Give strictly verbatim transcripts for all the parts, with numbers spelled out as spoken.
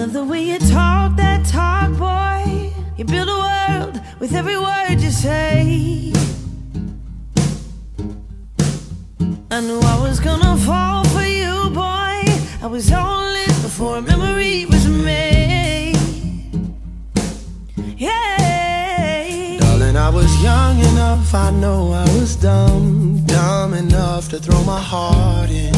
love the way you talk that talk, boy. You build a world with every word you say. I knew I was gonna fall for you, boy. I was all in before a memory was made. Yeah, darling, I was young enough, I know I was dumb, dumb enough to throw my heart in.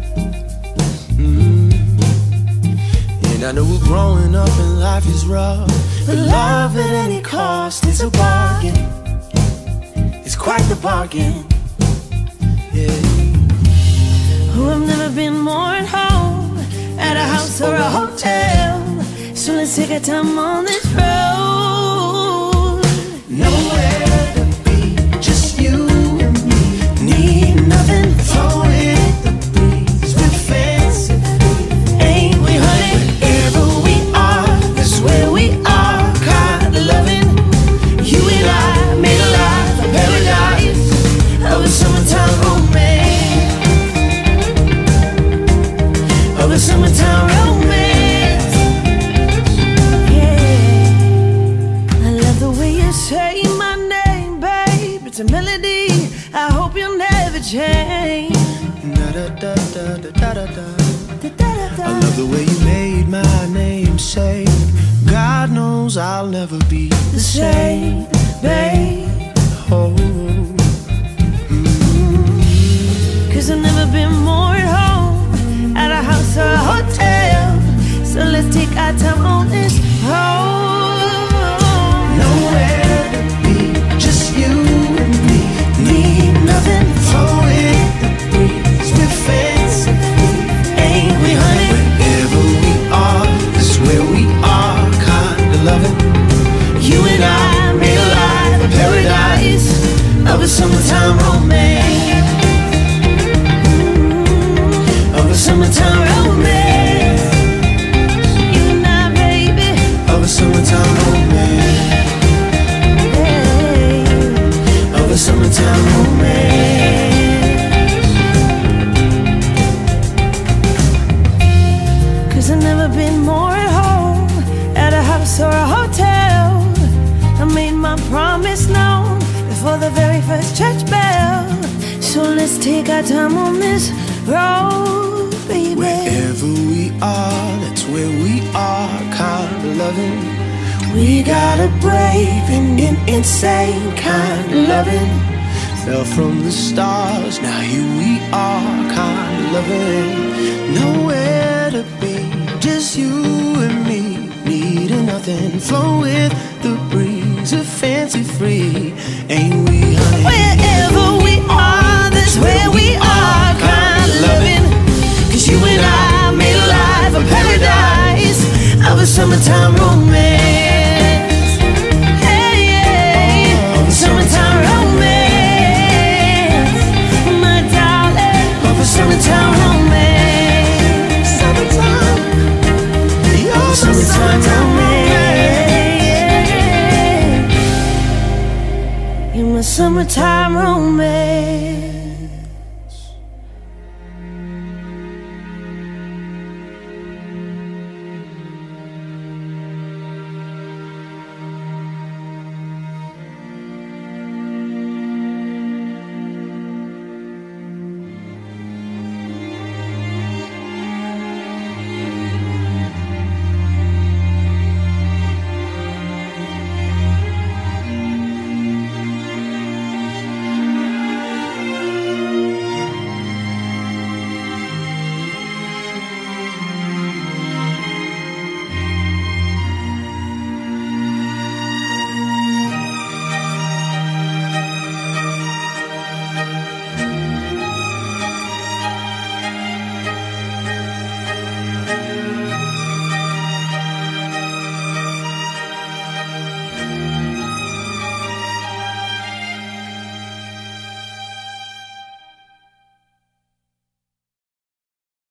mm. And I knew growing up in life is rough, but love at any cost, it's a bargain. It's quite the bargain. Yeah. Oh, I've never been more at home, at a house or a hotel. So let's take our time on this road. Nowhere to be, just you and me. Need nothing, flow with the breeze. We're fancy, ain't we, honey? Wherever we are, that's where we are. Kind of loving. You and I made a life, a paradise of a summertime romance. Of a summertime romance. Yeah, I love the way you say my name, babe. It's a melody I hope you'll never change. Da da da da da da da. I love the way you made my name say, God knows I'll never be the same, babe. Oh. Cause I've never been more at home, at a house or a hotel. So let's take our time on this road. Nowhere to be, just you and me. Need nothing, flow with the breeze. We're fancy, ain't we, honey? Wherever we are, that's where we are. Kind of loving. You and I made a life, a paradise of a summertime romance. Of a summertime romance. You and I, baby. Of a summertime romance. Yeah. Of a summertime romance. Cause I've never been more at home, at a house or a hotel. I made my promise known before the very first church bell. So let's take our time on this road, baby. Wherever we are, that's where we are. Kind of loving. We got a brave and an insane kind of loving. Fell from the stars, now here we are. Kind of loving. Nowhere to be, just you and me. Needing nothing, flow with the breeze. A fancy free, ain't we, honey? Wherever we are, that's where we are. Kind of loving. Cause you and I made a life, a paradise of a summertime romance. Hey, yeah. Of a summertime romance. My darling, of a summertime romance. Summertime, Of a summertime romance. In my summertime romance.